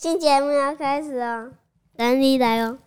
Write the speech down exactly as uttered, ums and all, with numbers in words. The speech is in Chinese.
新节目要开始哦，等你来哦。